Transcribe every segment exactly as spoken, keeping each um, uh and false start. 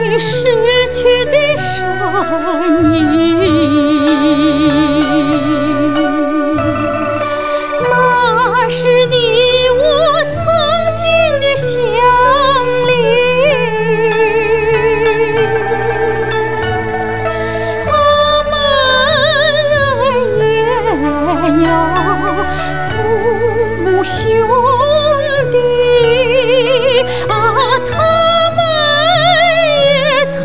你逝去的声音，那是你我曾经的相邻。他们也有父母兄弟啊，他们也曾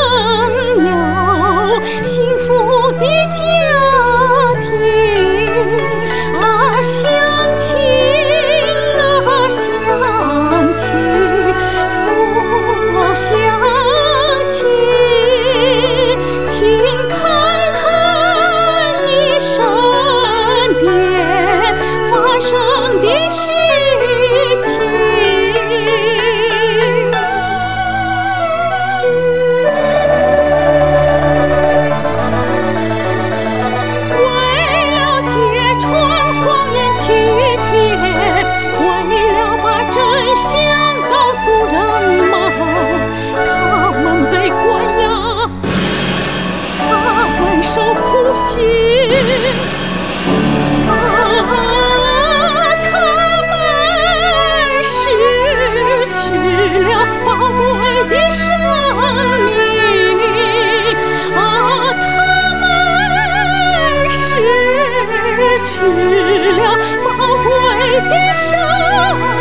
有幸福的家庭啊，乡亲啊，乡亲，父老乡亲，请看看你身边发生的事情。为了揭穿谎言欺骗，为了把真相告诉人们，他们被关押，他们受苦刑。啊，他们失去了宝贵的生命，啊，他们失去了宝贵的生命。